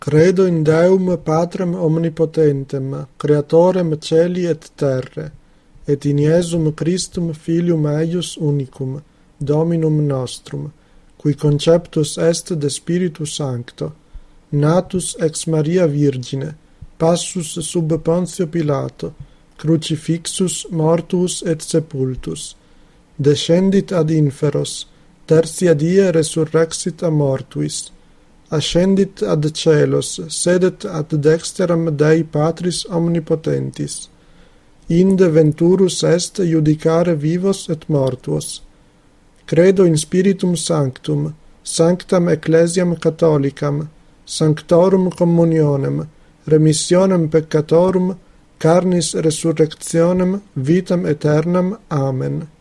Credo in Deum Patrem omnipotentem, creatorem celi et terre, et in Iesum Christum filium eius unicum, Dominum nostrum, qui conceptus est de Spiritu Sancto, natus ex Maria Virgine, passus sub Pontio Pilato, crucifixus, mortuus et sepultus, descendit ad inferos, tertia die resurrexit a mortuis, ascendit ad celos, sedet ad dexteram Dei Patris omnipotentis. Inde venturus est judicare vivos et mortuos. Credo in Spiritum Sanctum, sanctam Ecclesiam Catholicam, sanctorum communionem, remissionem peccatorum, carnis resurrectionem, vitam aeternam. Amen.